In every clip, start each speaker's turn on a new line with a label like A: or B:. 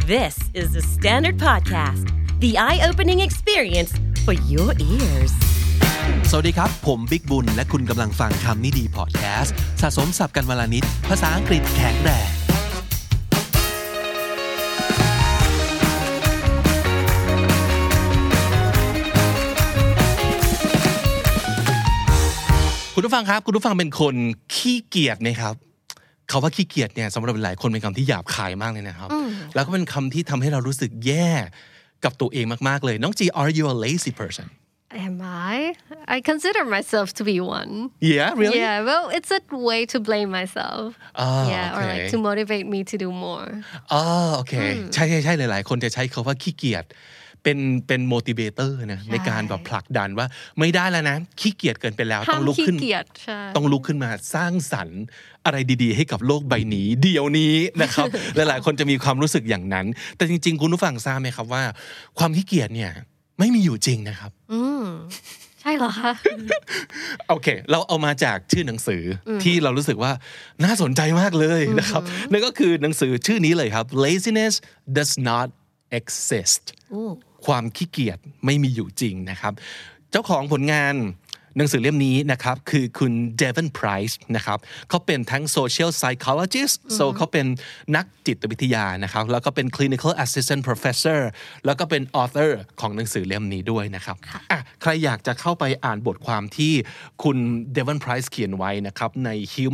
A: This is the Standard Podcast, the eye-opening experience for your ears.
B: สวัสดีครับผมบิ๊กบุญและคุณกำลังฟังคำนี้ดีพอดแคสต์สะสมศัพท์กันวลานิดภาษาอังกฤษแข็งแรงคุณผู้ฟังครับคุณผู้ฟังเป็นคนขี้เกียจไหมครับคำว่าขี้เกียจเนี่ยสำหรับหลายคนเป็นคำที่หยาบคายมากเลยนะครับแล้วก็เป็นคำที่ทำให้เรารู้สึกแย่กับตัวเองมากๆเลยน้องจี Are you a lazy person?
C: Am I? I consider myself to be one.
B: Yeah, really?
C: Yeah, well, it's a way to blame myself. Yeah, or like to motivate me to do more.
B: โอเคใช่ๆหลายๆคนจะใช้คำว่าขี้เกียจเป็น motivator นะในการแบบผลักดันว่าไม่ได้แล้วนะขี้เกียจเกินไปแล้วต้องลุกขึ้นต้องลุกขึ้นมาสร้างสรรค์อะไรดีๆให้กับโลกใบนี้เดี๋ยวนี้นะครับ หลายๆคนจะมีความรู้สึกอย่างนั้นแต่จริงๆคุณผู้ฟังทราบไหมครับว่าความขี้เกียจเนี่ยไม่มีอยู่จริงนะครับ
C: ใช่เหรอคะ
B: โอเคเราเอามาจากชื่อหนังสือที่เรารู้สึกว่าน่าสนใจมากเลยนะครับนั่นก็คือหนังสือชื่อนี้เลยครับ Laziness does not exist ความขี้เกียจไม่มีอยู่จริงนะครับเจ้าของผลงานหนังสือเล่มนี้นะครับคือคุณเดวินไพรส์นะครับเขาเป็นทั้ง social psychologist so เขาเป็นนักจิตวิทยานะครับแล้วก็เป็น clinical assistant professor แล้วก็เป็น author ของหนังสือเล่มนี้ด้วยนะครับใครอยากจะเข้าไปอ่านบทความที่คุณเดวินไพรส์เขียนไว้นะครับใน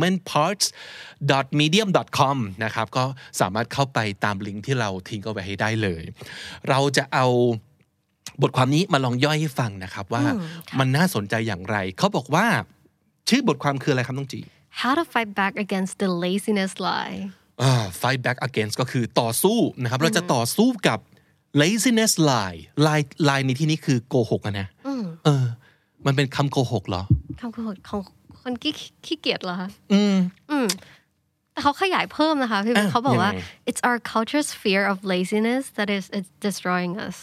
B: humanparts.medium.com นะครับก็สามารถเข้าไปตามลิงก์ที่เราทิ้งเอาไว้ให้ได้เลยเราจะเอาบทความนี้มาลองย่อยให้ฟังนะครับว่ามันน่าสนใจอย่างไรเขาบอกว่าชื่อบทความคืออะไรครับน้องจี
C: How to fight back against the laziness lie
B: fight back against ก็คือต่อสู้นะครับเราจะต่อสู้กับ laziness lie ในที่นี้คือโกหกนะมันเป็นคำโกหกเหรอ
C: คำโกหกของคนขี้เกียจเหรอคะแต่เขาขยายเพิ่มนะคะพี่เขาบอกว่า it's our culture's fear of laziness that is it's destroying us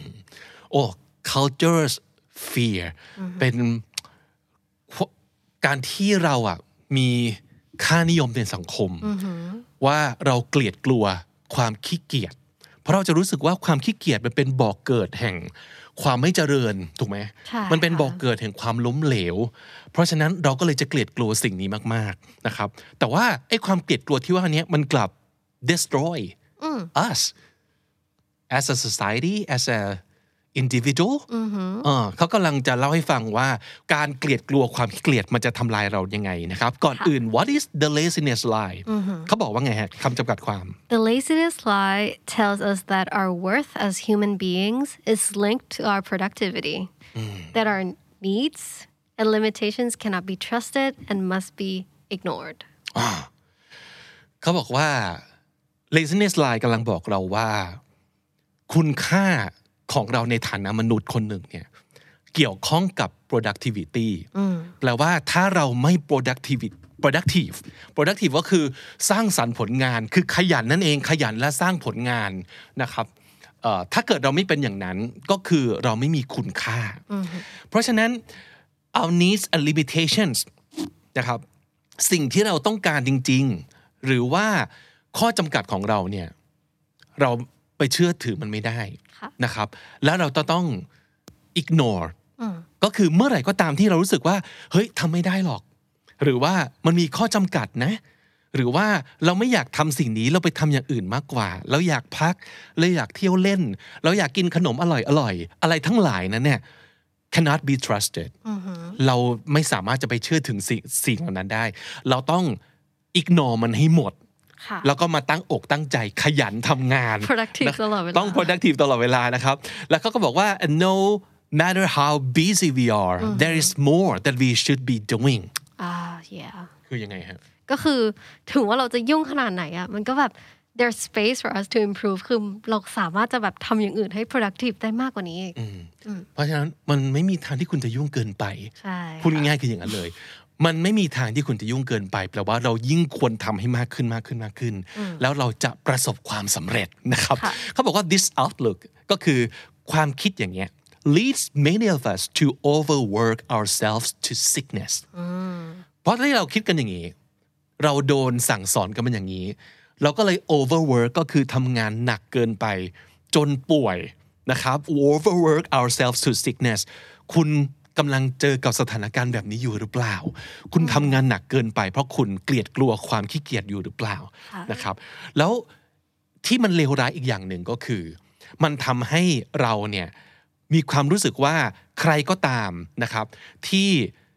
B: culture's fear เป็นการที่เรามีค่านิยมในสังคมว่าเราเกลียดกลัวความขี้เกียจเพราะเราจะรู้สึกว่าความขี้เกียจมันเป็นบ่อกเกิดแห่งความไม่เจริญถูกไหมมันเป็นบ่อกเกิดแห่งความล้มเหลวเพราะฉะนั้นเราก็เลยจะเกลียดกลัวสิ่งนี้มากๆนะครับแต่ว่าไอ้ความเกลียดกลัวที่ว่านี้มันกลับ destroy us as a society as a individual เขากำลังจะเล่าให้ฟังว่าการเกลียดกลัวความขี้เกียจมันจะทำลายเรายังไงนะครับก่อนอื่น what is the laziness lie เขาบอกว่าไงฮะคำจำกัดความ
C: The laziness lie tells us that our worth as human beings is linked to our productivity that our needs and limitations cannot be trusted and must be ignored
B: เขาบอกว่า laziness lie กำลังบอกเราว่าคุณค่าของเราในฐานะมนุษย์คนหนึ่งเนี่ยเกี่ยวข้องกับ productivity แปลว่าถ้าเราไม่ productive ก็คือสร้างสรรค์ผลงานคือขยันนั่นเองขยันและสร้างผลงานนะครับถ้าเกิดเราไม่เป็นอย่างนั้นก็คือเราไม่มีคุณค่าเพราะฉะนั้น our needs and limitations นะครับสิ่งที่เราต้องการจริงๆหรือว่าข้อจำกัดของเราเนี่ยเราไปเชื่อถือมันไม่ได้นะครับแล้วเราต้อง ignore ก็คือเมื่อไหร่ก็ตามที่เรารู้สึกว่าเฮ้ยทำไม่ได้หรอกหรือว่ามันมีข้อจำกัดนะหรือว่าเราไม่อยากทำสิ่งนี้เราไปทำอย่างอื่นมากกว่าเราอยากพักเราอยากเที่ยวเล่นเราอยากกินขนมอร่อยอะไรทั้งหลายนั้นเนี่ย cannot be trusted เราไม่สามารถจะไปเชื่อถึงสิ่งเหล่านั้นได้เราต้อง ignore มันให้หมดแล้วก็มาตั้งอกตั้งใจขยันทำงาน
C: productive ตลอดเวลา
B: ต้อง productive ตลอดเวลานะครับแล้วเขาก็บอกว่า no matter how busy we are there is more that we should be doing
C: yeah
B: คือยังไงฮะ
C: ก็คือถึงว่าเราจะยุ่งขนาดไหนมันก็แบบ there's space for us to improve คือเราสามารถจะแบบทำอย่างอื่นให้ productive ได้มากกว่านี้
B: เพราะฉะนั้นมันไม่มีทางที่คุณจะยุ่งเกินไปพูดง่ายๆคืออย่างนั้นเลยมันไม่มีทางที่คุณจะยุ่งเกินไปแปลว่าเรายิ่งควรทำให้มากขึ้นแล้วเราจะประสบความสำเร็จนะครับเขาบอกว่า this outlook ก็คือความคิดอย่างเงี้ย leads many of us to overwork ourselves to sickness เพราะที่เราคิดกันอย่างนี้เราโดนสั่งสอนกันมันอย่างนี้เราก็เลย overwork ก็คือทำงานหนักเกินไปจนป่วยนะครับ overwork ourselves to sickness คุณกำลังเจอกับสถานการณ์แบบนี้อยู่หรือเปล่าคุณทำงานหนักเกินไปเพราะคุณเกลียดกลัวความขี้เกียจอยู่หรือเปล่านะครับแล้วที่มันเลวร้ายอีกอย่างหนึ่งก็คือมันทำให้เราเนี่ยมีความรู้สึกว่าใครก็ตามนะครับที่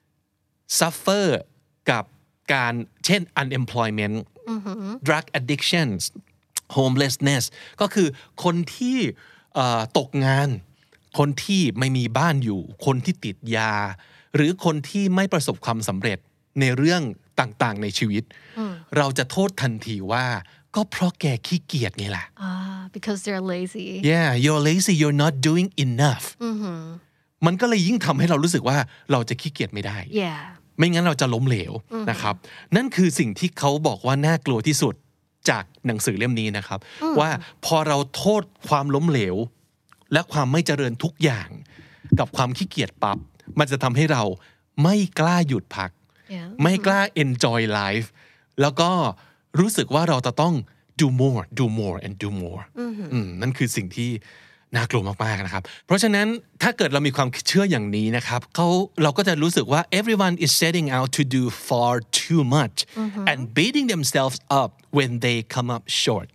B: suffer กับการเช่น unemployment drug addictions homelessness ก็คือคนที่ตกงานคนที่ไม่มีบ้านอยู่คนที่ติดยาหรือคนที่ไม่ประสบความสำเร็จในเรื่องต่างๆในชีวิตเราจะโทษทันทีว่าก็เพราะแกขี้เกียจไงล่ะ
C: because they're lazy
B: yeah you're lazy you're not doing enough มันก็เลยยิ่งทำให้เรารู้สึกว่าเราจะขี้เกียจไม่ได้
C: yeah
B: ไม่งั้นเราจะล้มเหลวนะครับนั่นคือสิ่งที่เขาบอกว่าน่ากลัวที่สุดจากหนังสือเล่มนี้นะครับว่าพอเราโทษความล้มเหลวและความไม่เจริญทุกอย่างกับความขี้เกียจปั๊บมันจะทำให้เราไม่กล้าหยุดพัก ไม่กล้า enjoy life แล้วก็รู้สึกว่าเราจะต้อง do more and do more นั่นคือสิ่งที่น่ากลัวมากๆนะครับเพราะฉะนั้นถ้าเกิดเรามีความเชื่ออย่างนี้นะครับเราก็จะรู้สึกว่า everyone is setting out to do far too much and beating themselves up when they come up short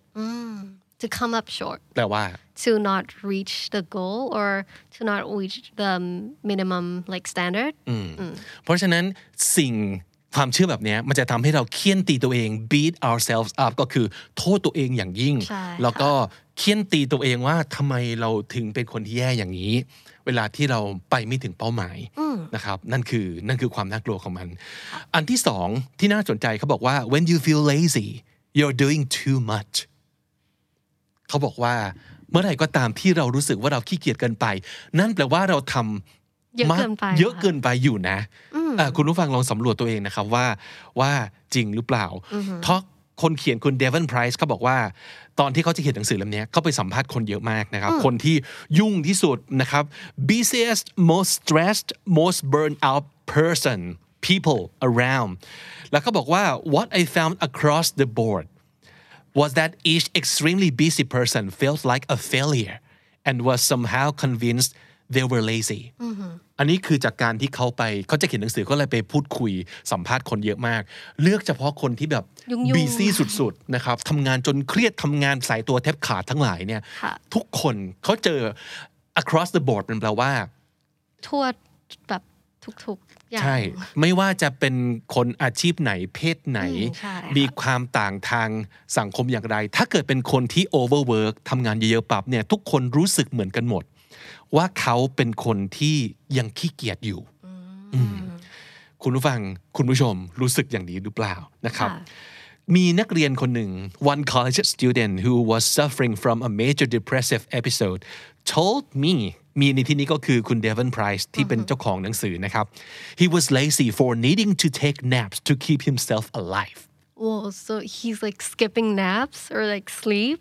C: to come up short
B: แปลว่า
C: to not reach the goal or to not reach the minimum like standard
B: เพราะฉะนั้นความเชื่อแบบนี้มันจะทำให้เราเคี่ยนตีตัวเอง beat ourselves up ก็คือโทษตัวเองอย่างยิ่งแล้วก็เคี่ยนตีตัวเองว่าทำไมเราถึงเป็นคนที่แย่อย่างนี้เวลาที่เราไปไม่ถึงเป้าหมายนะครับนั่นคือความน่ากลัวของมันอันที่สองที่น่าสนใจเขาบอกว่า when you feel lazy you're doing too much เขาบอกว่าเมื่อไหร่ก็ตามที่เรารู้สึกว่าเราขี้เกียจเกินไปนั่นแปลว่าเราทำเยอะเกินไปอยู่นะคุณผู้ฟังลองสำรวจตัวเองนะครับว่าจริงหรือเปล่าเพราะคนเขียนคุณเดวินไพรส์เขาบอกว่าตอนที่เขาจะเขียนหนังสือเล่มนี้เขาไปสัมภาษณ์คนเยอะมากนะครับคนที่ยุ่งที่สุดนะครับ busiest most stressed most burned out person people around แล้วเขาบอกว่า what I found across the board was that each extremely busy person felt like a failure and was somehow convinced they were lazy อันนี้คือจากการที่เขาจะเขียนหนังสือก็เลยไปพูดคุยสัมภาษณ์คนเยอะมากเลือกเฉพาะคนที่แบบ busy สุดๆนะครับทำงานจนเครียดทำงานสายตัวแทบขาดทั้งหลายเนี่ยทุกคนเขาเจอ across the board เป็นแปลว่า
C: ทั่วแบบทุกๆอย่าง
B: ใช่ไม่ว่าจะเป็นคนอาชีพไหนเพศไหนมีความต่างทางสังคมอย่างไรถ้าเกิดเป็นคนที่ overwork ทำงานเยอะๆปั๊บเนี่ยทุกคนรู้สึกเหมือนกันหมดว่าเขาเป็นคนที่ยังขี้เกียจอยู่คุณผู้ฟังคุณผู้ชมรู้สึกอย่างนี้หรือเปล่านะครับมีนักเรียนคนหนึ่ง one college student who was suffering from a major depressive episode told me มีในที่นี้ก็คือคุณเดวินไพรส์ที่เป็นเจ้าของหนังสือนะครับ he was lazy for needing to take naps to keep himself alive
C: Whoa, so he's like skipping naps or like sleep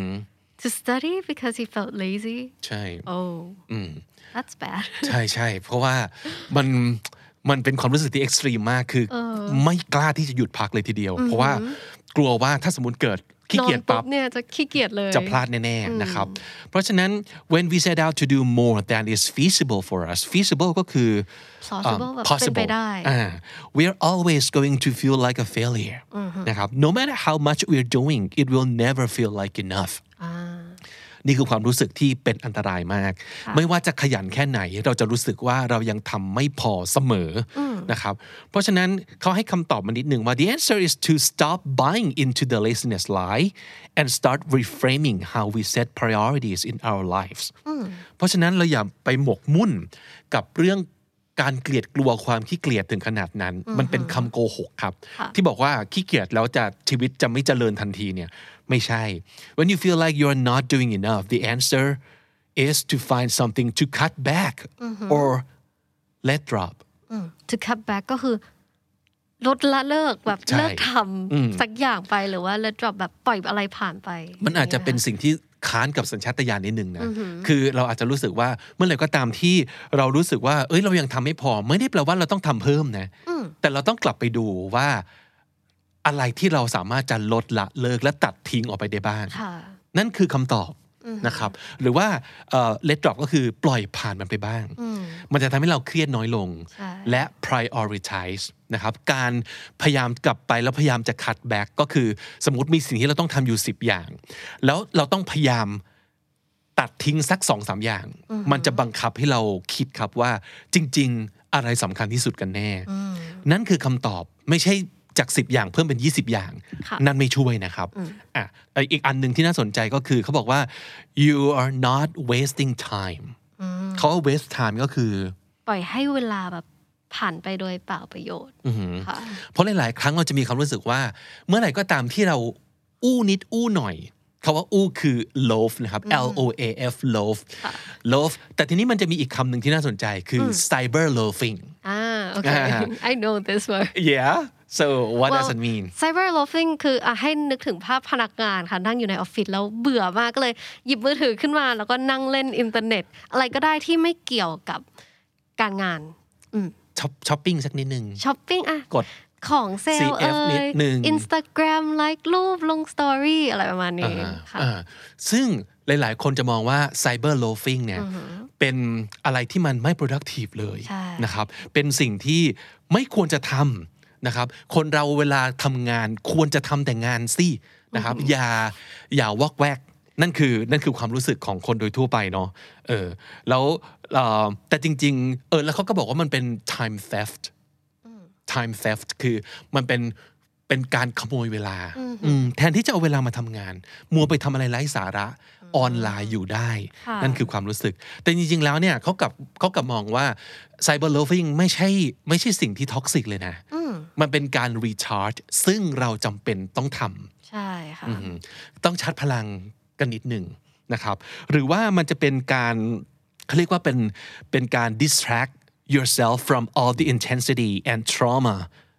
C: to study because he felt lazy
B: ใช่
C: oh that's bad
B: ใช่เพราะว่ามันเป็นความรู้สึกที่เอ็กซ์ตรีมมากคือไม่กล้าที่จะหยุดพักเลยทีเดียวเพราะว่ากลัวว่าถ้าสมมติเกิดขี้เกียจปั๊บ
C: เนี่ยจะขี้เกียจเลย
B: จะพลาดแน่ๆนะครับเพราะฉะนั้น when we set out to do more than is feasible for us feasible ก็คือ
C: possible เป็นไปได้
B: we are always going to feel like a failure นะครับ no matter how much we're doing it will never feel like enoughนี่คือความรู้สึกที่เป็นอันตรายมากไม่ว่าจะขยันแค่ไหนเราจะรู้สึกว่าเรายังทำไม่พอเสมอนะครับเพราะฉะนั้นเขาให้คำตอบมานิดนึงว่า the answer is to stop buying into the laziness lie and start reframing how we set priorities in our lives เพราะฉะนั้นเราอย่าไปหมกมุ่นกับเรื่องการเกลียดกลัวความขี้เกียจถึงขนาดนั้นมันเป็นคำโกหกครับที่บอกว่าขี้เกียจแล้วชีวิตจะไม่เจริญทันทีเนี่ยไม่ใช่ when you feel like you're not doing enough the answer is to find something to cut back or let drop
C: to cut back ก็คือลดละเลิกแบบเลิกทำสักอย่างไปหรือว่า let drop แบบปล่อยอะไรผ่านไป
B: มันอาจจะเป็นสิ่งที่ค้านกับสัญชาตญาณนิดนึงนะคือเราอาจจะรู้สึกว่าเมื่อไหร่ก็ตามที่เรารู้สึกว่าเรายังทำไม่พอไม่ได้แปลว่าเราต้องทำเพิ่มนะแต่เราต้องกลับไปดูว่าอะไรที่เราสามารถจะลดละเลิกและตัดทิ้งออกไปได้บ้าง
C: ค่ะ
B: นั่นคือคำตอบนะครับหรือว่าlet drop ก็คือปล่อยผ่านมันไปบ้างมันจะทำให้เราเครียดน้อยลงและ prioritize นะครับการพยายามกลับไปแล้วพยายามจะ cut back ก็คือสมมติมีสิ่งที่เราต้องทำอยู่10อย่างแล้วเราต้องพยายามตัดทิ้งสัก 2-3 อย่างมันจะบังคับให้เราคิดครับว่าจริงๆอะไรสำคัญที่สุดกันแน่นั่นคือคำตอบไม่ใช่จาก10อย่างเพิ่มเป็น20อย่างนั่นไม่ช่วยนะครับอีกอันหนึ่งที่น่าสนใจก็คือเขาบอกว่า you are not wasting time เขาว่า waste time ก็คือ
C: ปล่อยให้เวลาแบบผ่านไปโดยเปล่าประโยชน์
B: เพราะหลายๆครั้งเราจะมีความรู้สึกว่าเมื่อไหร่ก็ตามที่เราอู้นิดอู้หน่อยคำว่าอู้คือ loaf นะครับ loaf loaf แต่ทีนี้มันจะมีอีกคำหนึ่งที่น่าสนใจคือ cyber loafing
C: okay I know this word
B: yeah so what does it mean
C: cyber loafing คือให้นึกถึงภาพพนักงานค่ะนั่งอยู่ในออฟฟิศแล้วเบื่อมากก็เลยหยิบมือถือขึ้นมาแล้วก็นั่งเล่นอินเทอร์เน็ตอะไรก็ได้ที่ไม่เกี่ยวกับการงาน
B: ช้อปปิ้งสักนิดนึง
C: ช้อปปิ้ง
B: กด
C: ของเซลล์Instagram ไลค์รูปลงสตอรี่อะไรประมาณนี้ค่ะ
B: ซึ่งหลายๆคนจะมองว่า cyber loafing เนี่ยเป็นอะไรที่มันไม่ productive เลยนะครับเป็นสิ่งที่ไม่ควรจะทำนะครับคนเราเวลาทำงานควรจะทำแต่งานสินะครับอย่าวอกแวกนั่นคือความรู้สึกของคนโดยทั่วไปเนาะแล้วแต่จริงๆแล้วเขาก็บอกว่ามันเป็น time theft คือมันเป็นการขโมยเวลาแทนที่จะเอาเวลามาทำงานมัวไปทำอะไรไร้สาระออนไลน์อยู่ได้นั่นคือความรู้สึกแต่จริงๆแล้วเนี่ยเขากับมองว่า cyber loafing ไม่ใช่สิ่งที่ท็อกซิกเลยนะมันเป็นการ recharge ซึ่งเราจำเป็นต้องท
C: ำใช่ค่ะ
B: ต้องชาร์จพลังกันนิดหนึ่งนะครับหรือว่ามันจะเป็นการเขาเรียกว่าเป็นการ distract yourself from all the intensity and trauma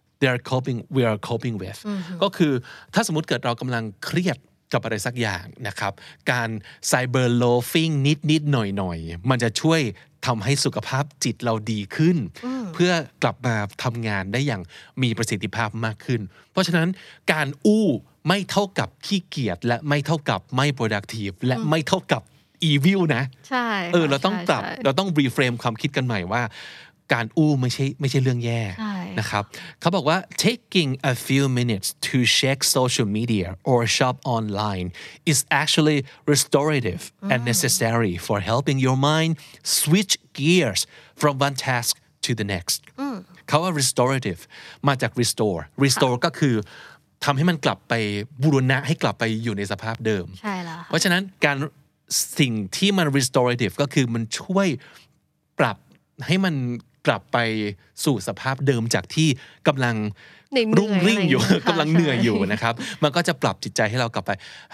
B: we are coping with ก็คือถ้าสมมุติเกิดเรากำลังเครียดกับอะไรสักอย่างนะครับการ cyber loafing นิดหน่อยมันจะช่วยทำให้สุขภาพจิตเราดีขึ้นเพื่อกลับมาทำงานได้อย่างมีประสิทธิภาพมากขึ้นเพราะฉะนั้นการอู้ไม่เท่ากับขี้เกียจและไม่เท่ากับไม่ productive และไม่เท่ากับ evil นะ
C: ใช่
B: เราต้องปรับเราต้อง reframe ความคิดกันใหม่ว่าการอู้ไม่ใช่เรื่องแย่นะครับเขาบอกว่า taking a few minutes to check social media or shop online is actually restorative and necessary for helping your mind switch gears from one task to the next เขาว่า restorative มาจาก restore ก็คือทำให้มันกลับไปบูรณะให้กลับไปอยู่ในสภาพเดิม
C: ใช่แล้ว
B: เพราะฉะนั้นการสิ่งที่มัน restorative ก็คือมันช่วยปรับให้มันกลับไปสู่สภาพเดิมจากที่กำลังรุ่งริ่งอยู่กำลังเหนื่อยอยู่นะครับมันก็จะปรับจิตใจให้เรากลับไป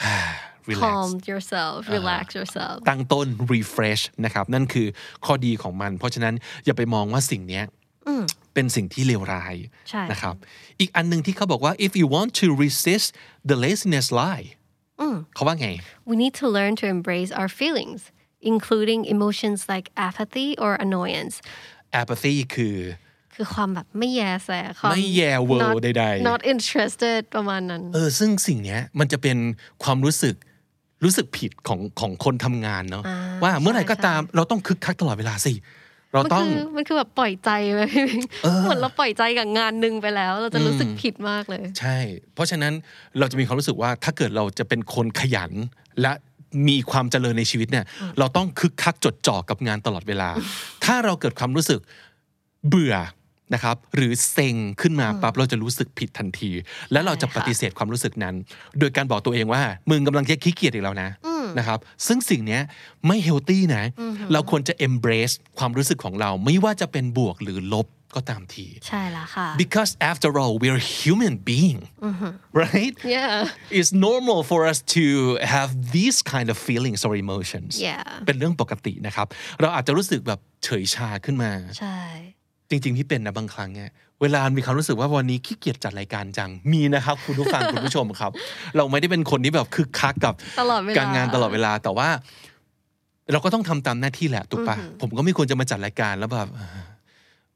C: calm yourself relax yourself
B: ตั้งต้น refresh นะครับนั่นคือข้อดีของมันเพราะฉะนั้นอย่าไปมองว่าสิ่งนี้เป็นสิ่งที่เลวร้ายนะครับอีกอันนึงที่เขาบอกว่า if you want to resist the laziness lie เขาว่าไง
C: we need to learn to embrace our feelings including emotions like apathy or annoyance
B: apathy คือ
C: ความแบบไม่แยแส
B: ไม่แยเวอร์ใด
C: ๆ not interested ประมาณนั้น
B: ซึ่งสิ่งนี้มันจะเป็นความรู้สึกผิดของคนทำงานเนาะว่าเมื่อไหร่ก็ตามเราต้องคึกคักตลอดเวลาสิเราต้อง
C: มันคือแบบปล่อยใจไปเหมือนเราปล่อยใจกับงานนึงไปแล้วเราจะรู้สึกผิดมากเลย
B: ใช่เพราะฉะนั้นเราจะมีความรู้สึกว่าถ้าเกิดเราจะเป็นคนขยันและมีความเจริญในชีวิตเนี่ยเราต้องคึกคักจดจ่อกับงานตลอดเวลาถ้าเราเกิดความรู้สึกเบื่อนะครับหรือเซ็งขึ้นมาปั๊บเราจะรู้สึกผิดทันทีและเราจะปฏิเสธความรู้สึกนั้นโดยการบอกตัวเองว่ามึงกำลังขี้เกียจอีกแล้วนะครับซึ่งสิ่งนี้ไม่เฮลตี้นะเราควรจะ embrace ความรู้สึกของเราไม่ว่าจะเป็นบวกหรือลบก็ตามที
C: ใช่แล้วค่ะ
B: because after all we're human being right it's normal for us to have these kind of feelings or emotions เป็นเรื่องปกตินะครับเราอาจจะรู้สึกแบบเฉยชาขึ้นมา
C: ใช่
B: จริงๆที่เป็นนะบางครั้งเนี่ยเวลามีความรู้สึกว่าวันนี้ขี้เกียจจัดรายการจังมีนะครับคุณผู้ฟัง คุณผู้ชมครับเราไม่ได้เป็นคนที่แบบคึกคักกับการงานตลอดเวลาแต่ว่าเราก็ต้องทำตามหน้าที่แหละถูกปะผมก็ไม่ควรจะมาจัดรายการแล้วแบบ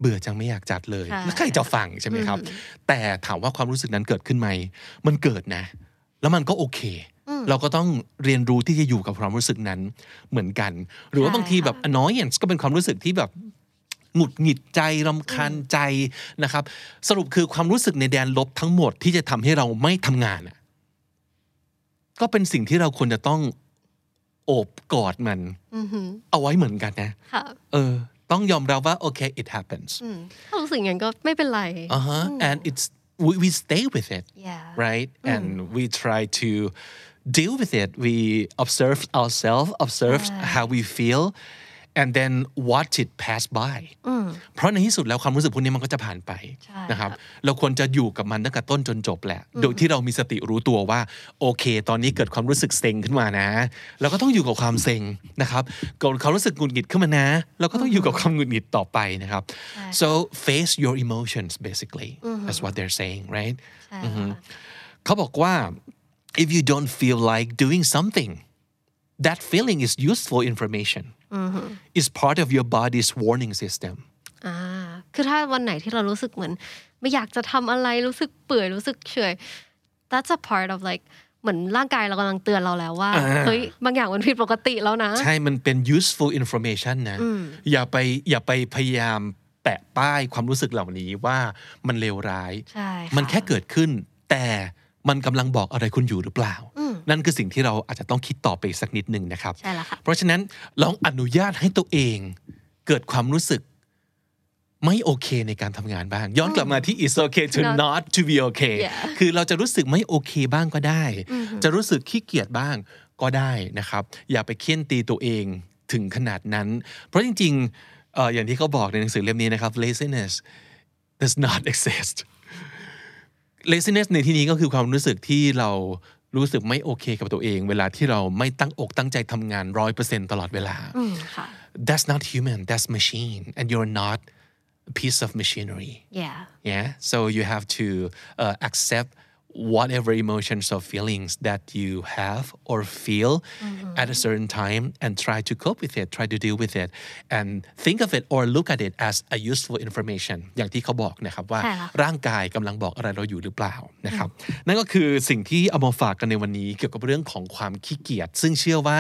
B: เบื่อจังไม่อยากจัดเลยแล้วใครจะฟังใช่ไหมครับแต่ถามว่าความรู้สึกนั้นเกิดขึ้นไหมมันเกิดนะแล้วมันก็โอเคเราก็ต้องเรียนรู้ที่จะอยู่กับความรู้สึกนั้นเหมือนกันหรือว่าบางทีแบบ annoyance ก็เป็นความรู้สึกที่แบบหงุดหงิดใจรำคาญใจนะครับสรุปคือความรู้สึกในแดนลบทั้งหมดที่จะทำให้เราไม่ทำงานก็เป็นสิ่งที่เราควรจะต้องโอบกอดมันเอาไว้เหมือนกันนะต้องยอมรับว่าโอเค it happens
C: ถ้ารู้สึกอย่างนั้นก็ไม่เป็นไร
B: and it's we stay with it right and we try to deal with it we observe ourselves observe how we feel and then watch it pass by เพราะในที่สุดแล้วความรู้สึกพวกนี้มันก็จะผ่านไปนะครับเราควรจะอยู่กับมันตั้งแต่ต้นจนจบแหละโดยที่เรามีสติรู้ตัวว่าโอเคตอนนี้เกิดความรู้สึกเซ็งขึ้นมานะเราก็ต้องอยู่กับความเซ็งนะครับเกิดความรู้สึกหงุดหงิดขึ้นมานะเราก็ต้องอยู่กับความหงุดหงิดต่อไปนะครับ so face your emotions basically that's what they're saying right เขาบอกว่า if you don't feel like doing something that feeling is useful information is part of your body's warning system
C: คือถ้าวันไหนที่เรารู้สึกเหมือนไม่อยากจะทำอะไรรู้สึกเปื่อยรู้สึกเฉย that's a part of like เหมือนร่างกายเรากำลังเตือนเราแล้วว่าเฮ้ยบางอย่างมันผิดปกติแล้วนะ
B: ใช่มันเป็น useful information นะอย่าไปพยายามแปะป้ายความรู้สึกเหล่านี้ว่ามันเลวร้ายมันแค่เกิดขึ้นแต่มันกำลังบอกอะไรคุณอยู่หรือเปล่านั่นคือสิ่งที่เราอาจจะต้องคิดต่อไปสักนิดนึงนะครับ
C: ใช่แล้วค่ะ
B: เพราะฉะนั้นลองอนุญาตให้ตัวเองเกิดความรู้สึกไม่โอเคในการทำงานบ้างย้อนกลับมาที่ it's okay to not to be okay คือเราจะรู้สึกไม่โอเคบ้างก็ได้จะรู้สึกขี้เกียจบ้างก็ได้นะครับอย่าไปเคี่ยนตีตัวเองถึงขนาดนั้นเพราะจริงๆอย่างที่เขาบอกในหนังสือเล่มนี้นะครับ laziness does not exist laziness ในที่นี้ก็คือความรู้สึกที่เรารู้สึกไม่โอเคกับตัวเองเวลาที่เราไม่ตั้งอกตั้งใจทำงาน 100% ตลอดเวลา That's not human that's machine and you're not a piece of machinery yeah so you have to accept whatever emotions or feelings that you have or feel at a certain time and try to cope with it try to deal with it and think of it or look at it as a useful information อย่างที่เขาบอกนะครับว่าร่างกายกำลังบอกอะไรเราอยู่หรือเปล่านะครับนั่นก็คือสิ่งที่เอามาฝากกันในวันนี้เกี่ยวกับเรื่องของความขี้เกียจซึ่งเชื่อว่า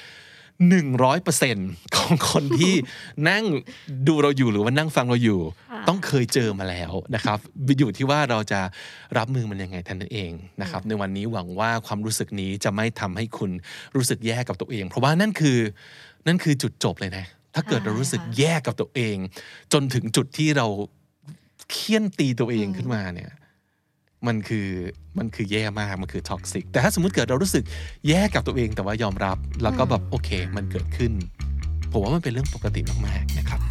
B: 100% ของคนที่นั่งดูเราอยู่หรือว่านั่งฟังเราอยู่ต้องเคยเจอมาแล้วนะครับอยู่ที่ว่าเราจะรับมือมันยังไงท่านเองนะครับในวันนี้หวังว่าความรู้สึกนี้จะไม่ทำให้คุณรู้สึกแย่กับตัวเองเพราะว่านั่นคือจุดจบเลยนะถ้าเกิดเรารู้สึกแย่กับตัวเองจนถึงจุดที่เราเคี่ยนตีตัวเองขึ้นมาเนี่ยมันคือแย่มากมันคือท็อกซิกแต่ถ้าสมมุติเกิดเรารู้สึกแย่กับตัวเองแต่ว่ายอมรับแล้วก็แบบโอเคมันเกิดขึ้นผมว่ามันเป็นเรื่องปกติมากๆนะครับ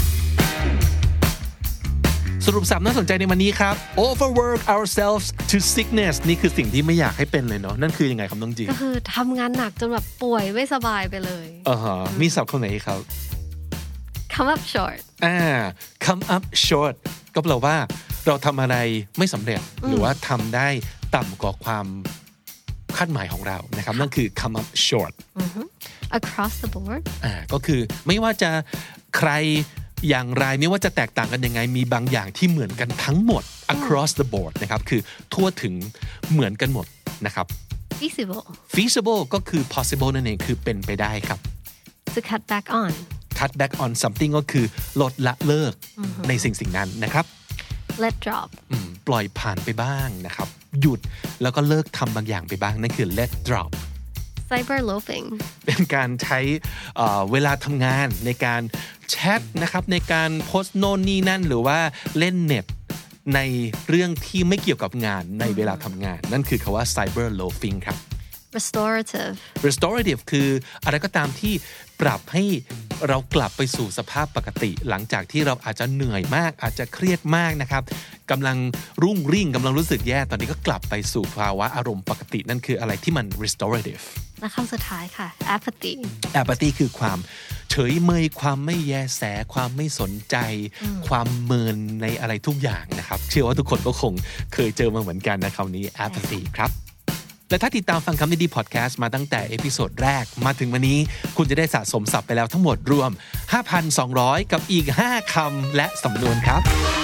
B: สรุปสับน่าสนใจในวันนี้ครับ overwork ourselves to sickness นี่คือสิ่งที่ไม่อยากให้เป็นเลยเนาะนั่นคือยังไงครับน้องจี
C: ก็คือทำงานหนักจนแบบป่วยไม่สบายไปเลย
B: มีศัพท์คำไหนครับ
C: come up short
B: come up short ก็แปลว่าเราทำอะไรไม่สำเร็จหรือว่าทำได้ต่ำกว่าความคาดหมายของเรานะครับนั่นคือ come up short
C: across the board
B: ก็คือไม่ว่าจะใครอย่างไรไม่ว่าจะแตกต่างกันยังไงมีบางอย่างที่เหมือนกันทั้งหมด across the board นะครับคือทั่วถึงเหมือนกันหมดนะครับ feasible ก็คือ possible นั่นเองคือเป็นไปได้ครับ
C: to cut back on
B: something ก็คือลดละเลิกในสิ่งนั้นนะครับ
C: let drop
B: ปล่อยผ่านไปบ้างนะครับหยุดแล้วก็เลิกทำบางอย่างไปบ้างนั่นคือ let drop
C: cyber loafing
B: เป็นการใช้เวลาทำงานในการแชทนะครับในการโพสต์โน่นนี่นั่นหรือว่าเล่นเน็ตในเรื่องที่ไม่เกี่ยวกับงานในเวลาทำงานนั่นคือคำว่า cyber loafing ครับ restorative คืออะไรก็ตามที่ปรับให้เรากลับไปสู่สภาพปกติหลังจากที่เราอาจจะเหนื่อยมากอาจจะเครียดมากนะครับกำลังรุ่งริ่งกำลังรู้สึกแย่ตอนนี้ก็กลับไปสู่ภาวะอารมณ์ปกตินั่นคืออะไรที่มัน restorative
C: และคำสุดท้ายค่ะ
B: apathy คือความเฉยเมยความไม่แยแสความไม่สนใจความเมินในอะไรทุกอย่างนะครับเชื่อว่าทุกคนก็คงเคยเจอมาเหมือนกันนะคำนี้ apathy ครับและถ้าติดตามฟังคำนี้ดีพอดแคสต์มาตั้งแต่เอพิโซดแรกมาถึงวันนี้คุณจะได้สะสมศัพท์ไปแล้วทั้งหมดรวม 5,200 กับอีก5คำและสำนวนครับ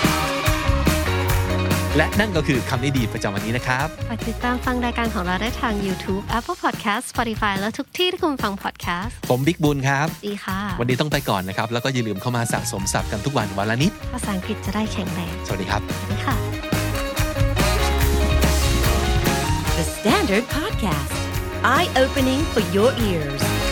B: และนั่นก็คือคำนี้ดีประจำวันนี้นะครับ
C: ฝากติดตามฟังรายการของเราได้ทาง YouTube Apple Podcast Spotify และทุกที่ที่คุณฟัง podcast
B: ผมบิ๊กบุญครับ
C: ดีค่ะ
B: วันนี้ต้องไปก่อนนะครับแล้วก็อย่าลืมเข้ามาสะสมศัพท์กันทุกวันวันละนิด
C: ภาษาอังกฤษจะได้แข็งแรง
B: สวัสดีครับ
C: สวัสดีค่ะ
A: The Standard Podcast Eye Opening for Your Ears